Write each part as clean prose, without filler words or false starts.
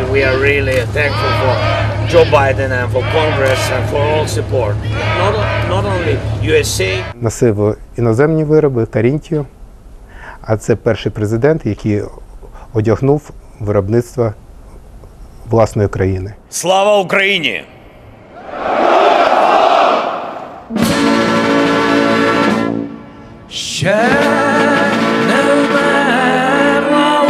we are really thankful for Joe Biden and for Congress and for all support. Not only USA. Носив іноземні вироби, Карінтію, а це перший президент, який одягнув виробництво власної країни. Слава Україні! Ще не вмерла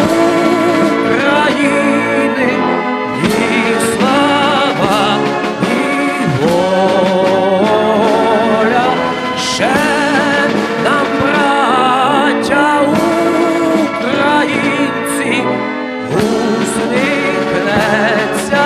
України, і слава, і воля. Ще нам, браття українці, усміхнеться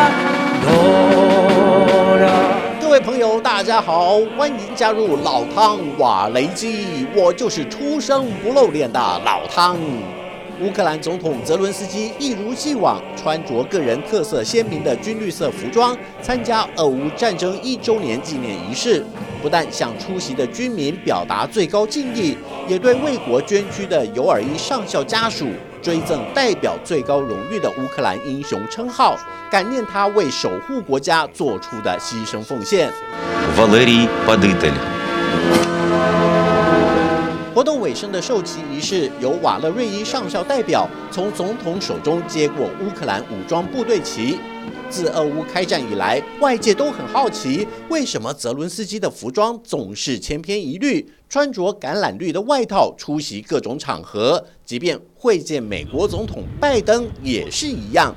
доля. 各位朋友，大家好，欢迎加入老汤瓦雷基，我就是出生不露脸的老汤。乌克兰总统泽伦斯基一如既往穿着个人特色鲜明的军绿色服装，参加俄乌战争1周年纪念仪式。不但向出席的军民表达最高敬意，也对为国捐躯的尤尔伊上校家属追赠代表最高荣誉的乌克兰英雄称号，感念他为守护国家做出的牺牲奉献。 Валерій Падитель。 活动尾声的授旗仪式，由瓦勒瑞伊上校代表从总统手中接过乌克兰武装部队旗。自俄乌开战以来，外界都很好奇，为什么泽伦斯基的服装总是千篇一律，穿着橄榄绿的外套出席各种场合，即便会见美国总统拜登也是一样。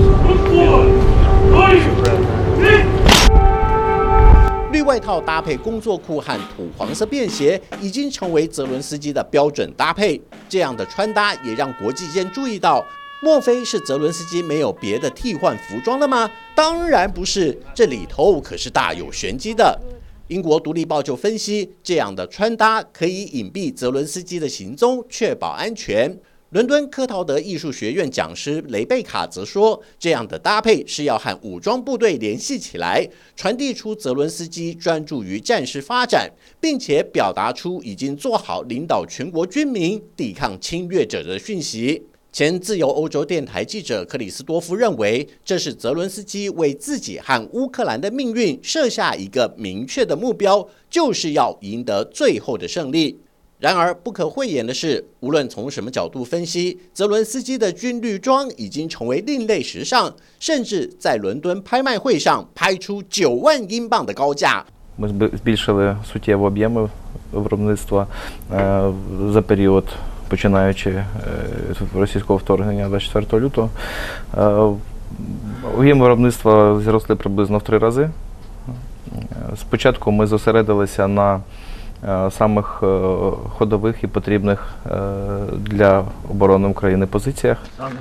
绿外套搭配工作裤和土黄色便鞋，已经成为泽伦斯基的标准搭配。这样的穿搭也让国际间注意到，莫非是泽伦斯基没有别的替换服装了吗？当然不是，这里头可是大有玄机的。英国《独立报》就分析，这样的穿搭可以隐蔽泽伦斯基的行踪，确保安全。 伦敦科陶德艺术学院讲师雷贝卡则说，这样的搭配是要和武装部队联系起来，传递出泽伦斯基专注于战事发展，并且表达出已经做好领导全国军民抵抗侵略者的讯息。前自由欧洲电台记者克里斯多夫认为，这是泽伦斯基为自己和乌克兰的命运设下一个明确的目标，就是要赢得最后的胜利。 然而，不可讳言的是，无论从什么角度分析，泽伦斯基的军绿装已经成为另类时尚，甚至在伦敦拍卖会上拍出9万英镑的高价。 Ми збільшили суттєво об'єми виробництва за період, починаючи російського вторгнення 24 лютого. Об'єми виробництва зросли приблизно в 3 рази. Спочатку ми зосередилися на самих ходових і потрібних для оборони України позиціях.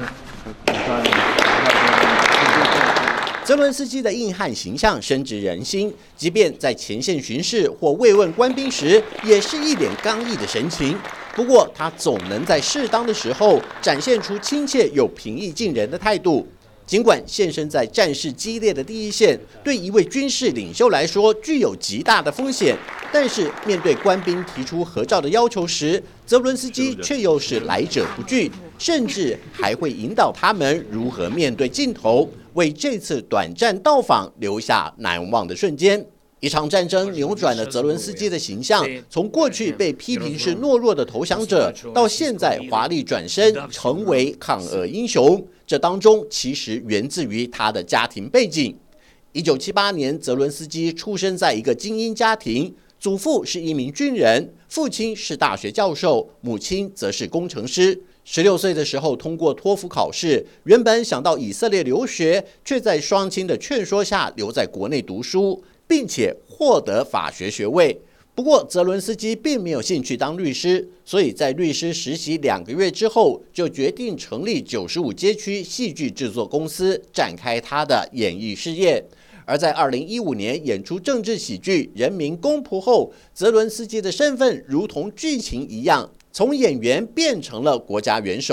泽伦斯基的硬汉形象深植人心，即便在前线巡视或慰问官兵时，也是一脸刚毅的神情。不过，他总能在适当的时候展现出亲切又平易近人的态度。 尽管现身在战事激烈的第一线，对一位军事领袖来说具有极大的风险，但是面对官兵提出合照的要求时，泽伦斯基却又是来者不拒，甚至还会引导他们如何面对镜头，为这次短暂到访留下难忘的瞬间。 一场战争扭转了泽伦斯基的形象，从过去被批评是懦弱的投降者，到现在华丽转身成为抗俄英雄。这当中其实源自于他的家庭背景。1978年，泽伦斯基出生在一个精英家庭，祖父是一名军人，父亲是大学教授，母亲则是工程师。 16岁的时候通过托福考试，原本想到以色列留学，却在双亲的劝说下留在国内读书，并且获得法学学位。不过，泽伦斯基并没有兴趣当律师，所以在律师实习2个月之后，就决定成立95街区戏剧制作公司，展开他的演艺事业。而在2015年演出政治喜剧《人民公仆》后，泽伦斯基的身份如同剧情一样。 从演员变成了国家元首。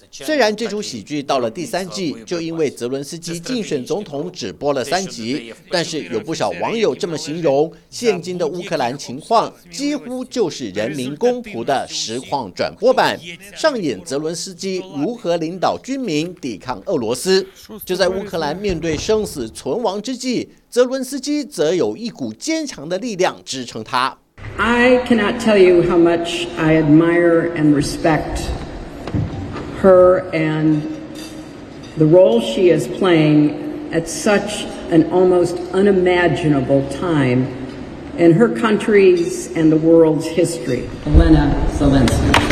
虽然这出喜剧到了第3季，就因为泽伦斯基竞选总统只播了3集，但是有不少网友这么形容：现今的乌克兰情况几乎就是人民公仆的实况转播版，上演泽伦斯基如何领导军民抵抗俄罗斯。就在乌克兰面对生死存亡之际，泽伦斯基则有一股坚强的力量支撑他。 I cannot tell you how much I admire and respect her and the role she is playing at such an almost unimaginable time in her country's and the world's history. Olena Zelensky.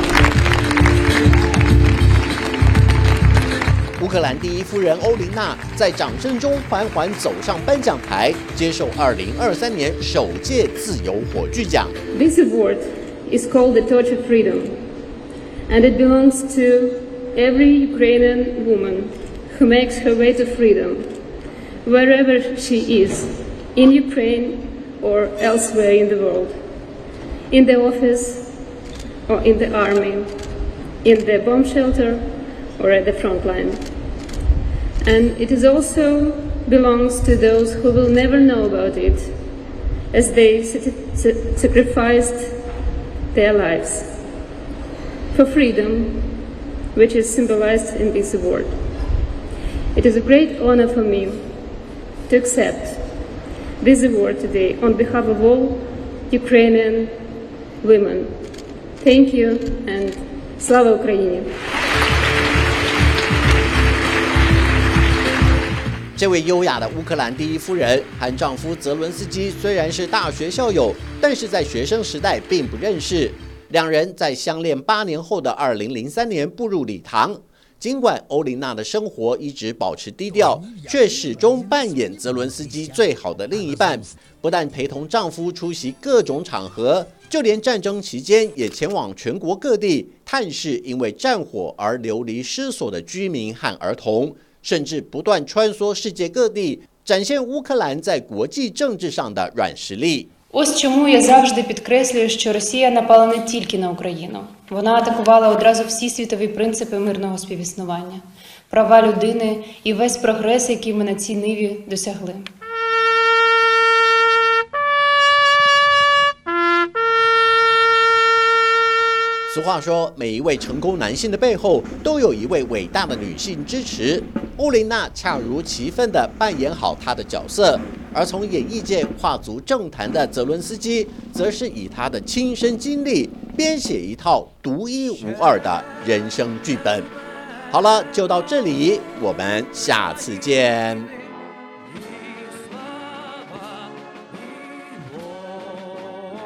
乌克兰第一夫人欧琳娜在掌声中缓缓走上颁奖台，接受2023年首届自由火炬奖。 This award is called the Torch of Freedom, and it belongs to every Ukrainian woman who makes her way to freedom, wherever she is, in Ukraine or elsewhere in the world, in the office or in the army, in the bomb shelter or at the front line. And it is also belongs to those who will never know about it, as they sacrificed their lives for freedom, which is symbolized in this award. It is a great honor for me to accept this award today on behalf of all Ukrainian women. Thank you and Slava Ukraini! 这位优雅的乌克兰第一夫人和丈夫泽伦斯基虽然是大学校友，但是在学生时代并不认识。两人在相恋8年后的2003年步入礼堂。尽管欧琳娜的生活一直保持低调，却始终扮演泽伦斯基最好的另一半。不但陪同丈夫出席各种场合，就连战争期间也前往全国各地探视因为战火而流离失所的居民和儿童。甚至不断穿梭世界各地，展现乌克兰在国际政治上的软实力。 Ось чому я завжди підкреслюю, що Росія напала не тільки на Україну. Вона атакувала одразу всі світові принципи мирного співіснування, права людини і весь прогрес, який ми на цій ниві досягли. 俗话说，每一位成功男性的背后，都有一位伟大的女性支持。欧琳娜恰如其分地扮演好她的角色，而从演艺界跨足政坛的泽伦斯基，则是以他的亲身经历编写一套独一无二的人生剧本。好了，就到这里，我们下次见。